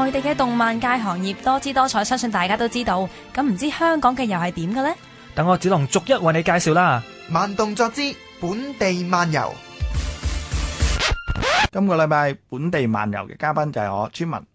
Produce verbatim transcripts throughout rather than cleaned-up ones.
內地嘅動漫界行業多姿多彩，相信大家都知道。咁唔知香港嘅又係點嘅呢？ 等我子龍逐一為你介紹啦。 慢動作之本地漫遊。 今個禮拜本地漫遊嘅嘉賓就係我村民。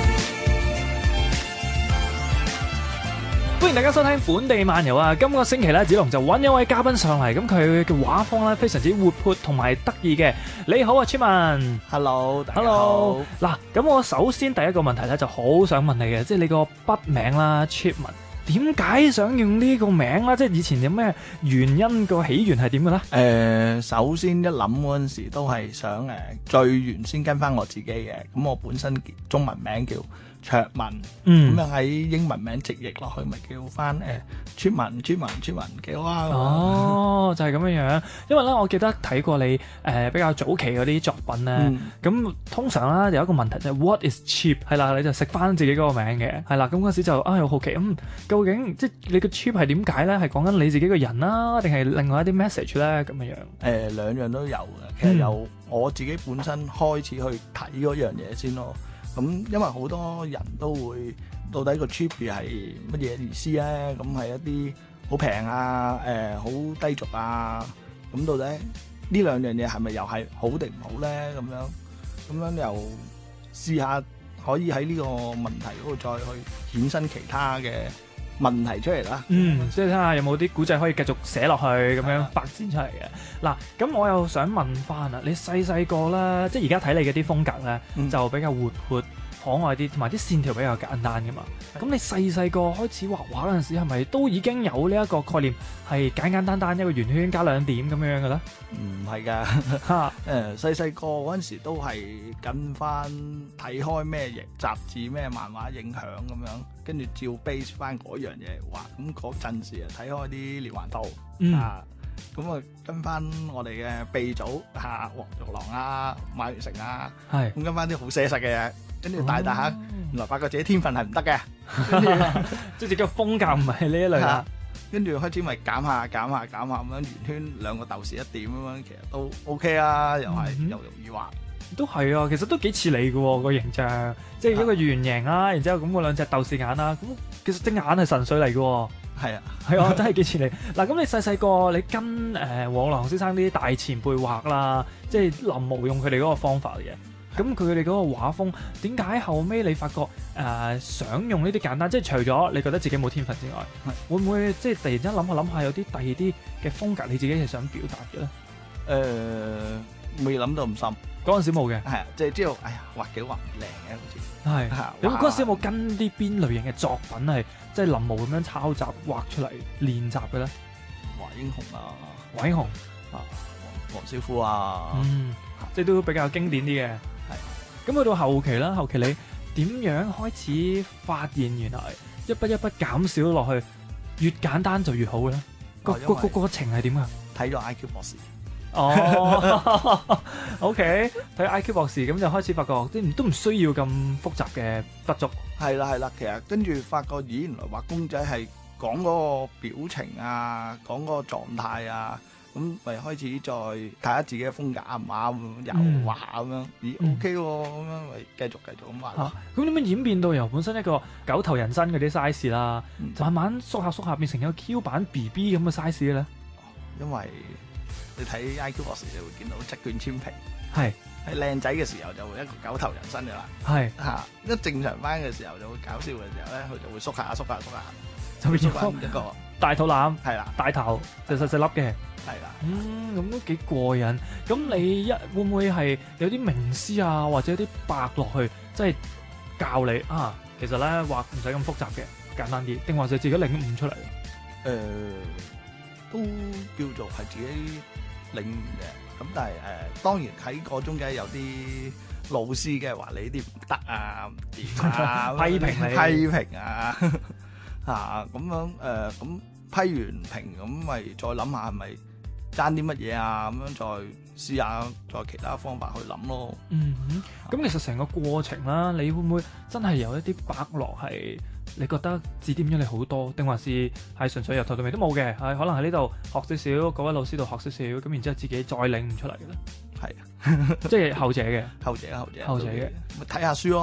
歡迎大家收聽本地漫遊啊！今個星期咧，子龍就揾一位嘉賓上嚟，咁佢嘅畫風咧非常之活潑同埋得意嘅。你好啊，村民。 Hello，大家好。 Hello。嗱，咁我首先第一個問題咧，就好想問你嘅，即係你個筆名啦，村民。點解想用呢個名啦？即係以前有咩原因，個起源係點嘅咧？ 誒、呃，首先一諗嗰陣時都係想誒，最原先跟翻我自己嘅。咁我本身中文名叫卓文，咁樣喺英文名直譯落去，咪叫翻誒村民、村民、村民，幾好啊！ 哦，就係咁樣樣。因為咧，我記得睇過你誒、呃、比較早期嗰啲作品咧，咁、嗯、通常啦有一個問題就係 What is cheap？ 係啦，你就食翻自己嗰個名嘅，係啦。咁嗰時就啊，好好奇，嗯，究竟即係你個 cheap 係點解咧？係講緊你自己個人啦，定係另外一啲 message 咧？咁樣樣。誒、 呃，兩樣都有嘅。其實由我自己本身開始去睇嗰樣嘢先咯。咁因為好多人都會到底個 cheap 係乜嘢意思咧？咁係一啲好平啊，誒、呃、好低俗啊。咁到底呢兩樣嘢係咪又係好定唔好咧？咁樣咁樣又試下可以喺呢個問題嗰度再去衍生其他嘅問題出嚟啦。 嗯，即係睇下有冇啲古仔可以繼續寫落去，咁樣發展出嚟嘅。嗱，咁我又想問翻啊，你細細個啦，即係而家睇你嘅啲風格咧，嗯、就比較活潑可愛啲，同埋啲線條比較簡單噶嘛。咁你細細個開始畫畫嗰陣時，係咪都已經有呢一個概念，係簡簡單單一個圓圈加兩點咁樣嘅咧？ 唔係㗎，誒細細個嗰陣時都係跟翻睇開咩嘢雜誌、咩漫畫影響咁樣，跟住照 base 翻嗰樣嘢畫。咁嗰陣時啊睇開啲連環圖、嗯、啊，咁啊跟翻我哋嘅鼻祖嚇黃玉郎啊、馬榮成啊，係咁跟翻啲好寫實嘅嘢。跟住大大下，哦、原來發覺自己天分係唔得嘅，跟住即係自己嘅風格唔係呢一類啦。 跟住開始咪減下減下減下咁樣，圓圈兩個豆豉一點咁樣，其實都 OK 啊，又係、嗯、又容易畫。都係啊，其實都幾似你嘅喎個形象，即係一個圓形啦，然之後咁嗰兩隻豆豉眼啦，咁其實隻眼係神髓嚟嘅喎。係啊，係啊，真係幾似你。嗱，咁你細細個你跟誒黃郎先生啲大前輩畫啦，即係臨摹用佢哋嗰個方法嚟嘅。咁佢哋嗰個畫風點解後尾你發覺誒、呃、想用呢啲簡單，即係除咗你覺得自己冇天分之外，會唔會即係突然之間諗下諗下有啲第二啲嘅風格你自己係想表達嘅咧？誒、 呃，未諗到咁深， 嗰陣時冇嘅， 係啊，即係知道，哎呀，畫幾畫唔靚嘅好似係。你嗰陣時有冇跟啲邊類型嘅作品係即係臨摹咁樣抄襲畫出嚟練習嘅咧？ 華英雄啊， 華英雄啊，黃少富啊， 嗯，即係都比較經典啲嘅。咁去到後期啦，後期你點樣開始發現原來一筆一筆減少落去，越簡單就越好嘅咧？個個個過程係點啊？ 睇咗 I Q 博士。 哦，OK，睇 I Q 博士，咁就開始發覺啲都唔需要咁複雜嘅筆觸。係啦係啦，其實跟住發覺，咦，原來畫公仔係講嗰個表情啊，講嗰個狀態啊。咁咪開始再睇下自己嘅風格啱唔啱，又畫咁樣，咦 OK 喎，咁樣咪繼續繼續咁畫。嚇， 咁點樣演變到由本身一個九頭人身嗰啲 size 啦，嗯、慢慢縮下縮下變成一個 Q 版 B B 咁嘅 size 嘅咧？ 因為你睇 I Q 博士，你會見到七卷千平， 係喺靚仔嘅時候就會一個九頭人身嘅啦， 係嚇一正常翻嘅時候就會搞笑嘅時候咧，佢就會縮下縮下縮下， 就變咗一個大肚腩， 係啦， 大頭就細細粒嘅。 係啦， 嗯，咁都幾過癮。咁你一會唔會係有啲名師啊，或者有啲伯落去，即係教你啊？其實咧畫唔使咁複雜嘅，簡單啲，定還是自己領悟出嚟？誒、 呃，都叫做係自己領悟嘅。咁但係誒、呃，當然喺個中間有啲老師嘅話你啲唔得啊，唔掂啊， 批評你， 批評啊，嚇咁樣誒，咁、呃、批完評咁咪再諗下係咪？爭啲乜嘢啊？咁樣再試下，再其他方法去諗咯。 嗯哼，咁其實成個過程啦，你會唔會真係有一啲伯樂係你覺得指點咗你好多，定還是係純粹由頭到尾都冇嘅？係可能喺呢度學少少，嗰位老師度學少少，咁然之後自己再領悟出嚟嘅咧？ 係啊， 即係後者嘅， 後者後者後者嘅， 咪睇下書咯。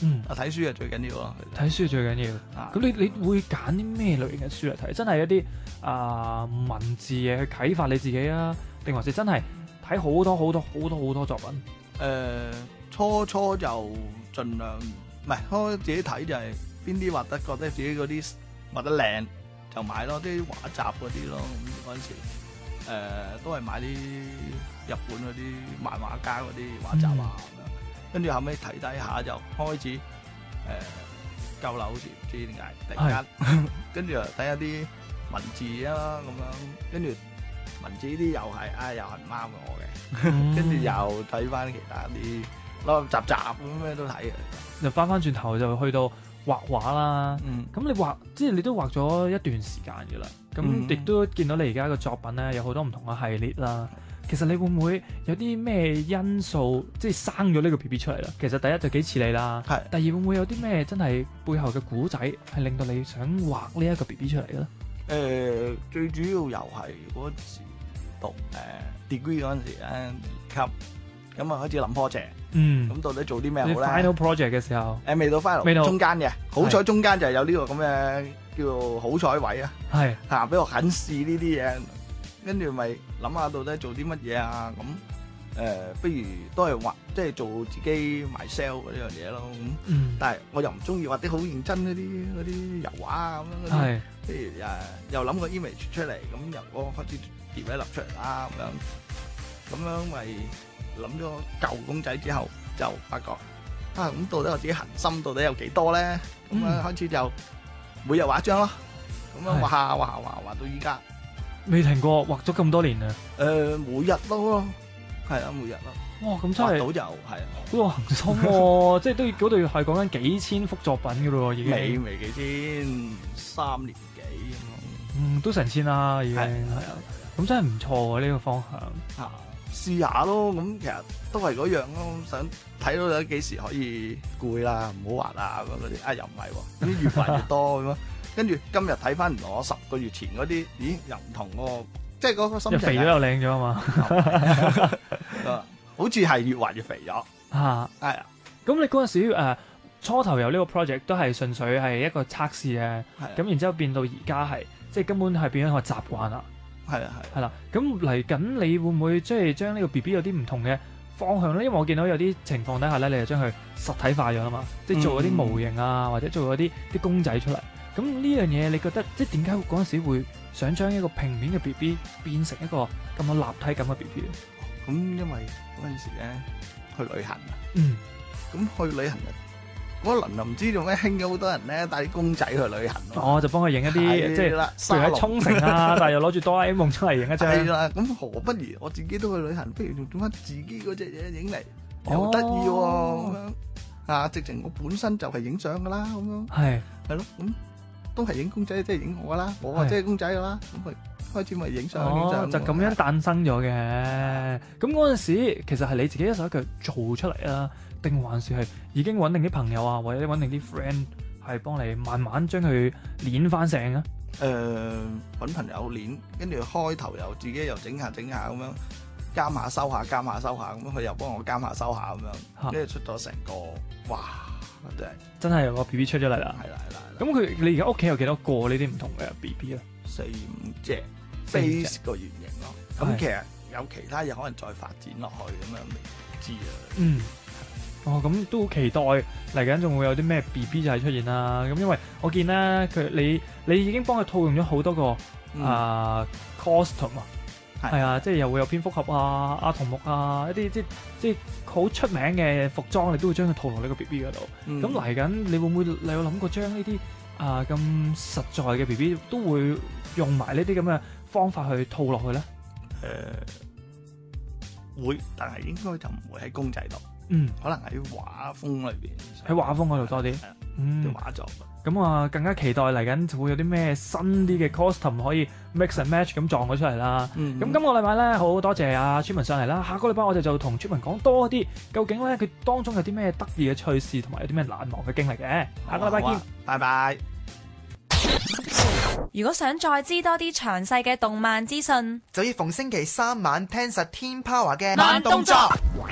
嗯， 啊睇書係最緊要咯。 睇書最緊要。咁、啊、你你會揀啲咩類型嘅書嚟睇？真係一啲啊、呃、文字嘅去啟發你自己啊，定還是真係睇好多好多好多好多作品？ 誒、呃，初初就盡量唔係，開自己睇就係邊啲畫得覺得自己嗰啲畫得靚就買咯，啲畫集嗰啲咯。咁嗰陣時誒、呃、都係買啲日本嗰啲漫畫家嗰啲畫集啊咁樣。跟住後尾睇睇下就開始誒舊樓，好似唔知點解突然間，跟住又睇下啲文字啊咁樣，跟住文字呢啲又係啊又係唔啱我嘅，跟住又睇翻其他啲攞集集咁咩都睇嘅。 就翻翻轉頭就去到畫畫啦。 嗯， 咁你畫即係你都畫咗一段時間嘅啦。咁亦都見到你而家嘅作品咧，有好多唔同嘅系列啦。其實你會唔會有啲咩因素即係生咗呢個 B B 出嚟啦？其實第一就幾似你啦，係。第二會唔會有啲咩真係背後嘅古仔係令到你想畫呢一個 B B 出嚟嘅咧？誒、 呃，最主要又係嗰時讀誒、呃、degree 嗰陣時咧，二級咁啊開始諗 project。嗯。咁到底做啲咩好咧 ？Final project 嘅時候。誒、 呃，未到 final，未到中間嘅。好彩中間就係有呢個咁嘅叫做好彩位啊。係。嚇！俾我肯試呢啲嘢。跟住咪諗下到底做啲乜嘢啊？咁誒、呃，不如都係畫，即係做自己賣 sell 嗰樣嘢咯。咁、嗯，但係我又唔中意畫啲好認真嗰啲嗰啲油畫啊咁樣。係，譬如誒，又諗個 image 出嚟，咁由嗰個開始疊一粒出嚟啦咁樣。咁樣咪諗咗舊公仔之後，就發覺啊，咁到底我自己恒心到底有幾多咧？咁、嗯、啊開始就每日畫一張咯。咁樣畫下畫下畫畫到依家。 未停過，畫咗咁多年啊！ 誒、呃，每日咯，係啊，每日咯。哇，咁真係畫到就係啊， 好有恒心喎！即係都嗰度係講緊幾千幅作品嘅咯，已經。 未未幾千，三年幾咁咯。 嗯，都成千啦，已經係啊。咁真係唔錯喎，呢、呢個方向。 啊，試下咯。咁其實都係嗰樣咯，想睇到有幾時可以攰啦，唔好畫啊咁嗰啲。啊，又唔係喎，啲越畫越多咁咯。跟住今日睇翻我十個月前嗰啲，咦又唔同喎，即係嗰個心情。又肥咗又靚咗啊嘛！ 好似係越畫越肥咗。嚇，係啊。 咁你嗰陣時、呃、初頭有呢個 project 都係純粹係一個測試嘅，咁然之後變到而家係即係根本係變咗一個習慣啦。係啊係。係啦，咁嚟緊你會唔會即係將呢個 B B 有啲唔同嘅方向咧？因為我見到有啲情況底下咧，你就將佢實體化咗啦嘛，即係做嗰啲模型啊，或者做嗰啲啲公仔出嚟。咁呢樣嘢，你覺得即係點解嗰陣時會想將一個平面嘅 B B 變成一個咁有立體感嘅 B B 咧？ 咁因為嗰陣時咧去旅行啊， 嗯， 咁去旅行啊，嗰輪又唔知做咩興咗好多人咧帶啲公仔去旅行咯。 哦，就幫佢影一啲即係，譬如喺沖繩啊，但係又攞住哆啦 A 夢出嚟影一張。 係啦，咁何不如我自己都去旅行，不如仲做翻自己嗰隻嘢影嚟，又得意喎咁樣啊！直情我本身就係影相噶啦，咁樣係係咯咁。都係影公仔，即係影我噶啦，我即係公仔噶啦，咁咪開始咪影相影相， 就咁樣誕生咗嘅。咁嗰陣時，其實係你自己一手一腳做出嚟啊，定還是係已經揾定啲朋友啊，或者揾定啲 friend 係幫你慢慢將佢練翻成啊？ 誒、呃，揾朋友練，跟住開頭又自己又整下整下咁樣，監下收下，監下收下，咁佢又幫我監下收下咁樣，跟住出咗成個，哇！真係真係有個 B B 出咗嚟啦，係啦係啦。咁佢你而家屋企有幾多個呢啲唔同嘅 B B 啊？ 四五隻 base 個原型咯。咁其實有其他嘢可能再發展落去咁樣未知啊。嗯。 哦，咁都好期待嚟緊仲會有啲咩 B B 就係出現啦。咁因為我見咧佢你你已經幫佢套用咗好多個啊、嗯呃、costume 啊。係啊，即係又會有蝙蝠俠啊、阿童木啊，一啲即即好出名嘅服裝，你都會將佢套落呢個 B B 嗰度。咁嚟緊，你會唔會你有諗過將呢啲啊咁實在嘅 B B 都會用埋呢啲咁嘅方法去套落去咧？ 誒、呃，會，但係應該就唔會喺公仔度。嗯，可能喺畫風裏邊， 喺畫風嗰度多啲。嗯， 啲畫作。咁啊，更加期待嚟緊會有啲咩新啲嘅 costume 可以 mix and match 咁撞咗出嚟啦。咁、嗯、今個禮拜咧，好多謝阿村民上嚟啦。下個禮拜我哋就同村民講多啲，究竟咧佢當中有啲咩得意嘅趣事，同埋有啲咩難忘嘅經歷嘅。下個禮拜見， 拜拜。 如果想再知多啲詳細嘅動漫資訊， 就要逢星期三晚聽實天 Power 嘅慢動作。